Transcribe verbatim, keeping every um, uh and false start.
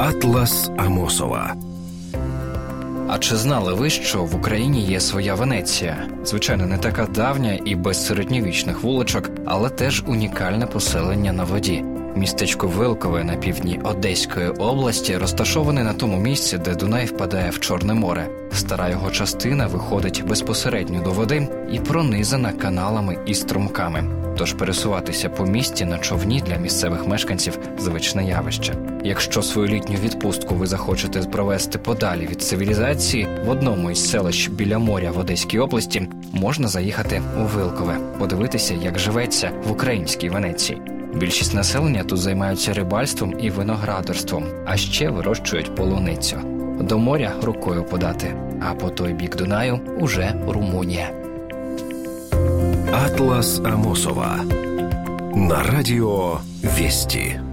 Атлас Амосова. А чи знали ви, що в Україні є своя Венеція? Звичайно, не така давня і без середньовічних вуличок, але теж унікальне поселення на воді. Містечко Вилкове на півдні Одеської області розташоване на тому місці, де Дунай впадає в Чорне море. Стара його частина виходить безпосередньо до води і пронизана каналами і струмками. Тож пересуватися по місті на човні для місцевих мешканців – звичне явище. Якщо свою літню відпустку ви захочете провести подалі від цивілізації, в одному із селищ біля моря в Одеській області можна заїхати у Вилкове, подивитися, як живеться в українській Венеції. Більшість населення тут займаються рибальством і виноградарством, а ще вирощують полуницю. До моря рукою подати, а по той бік Дунаю – уже Румунія. Атлас Амосова на радио Вести.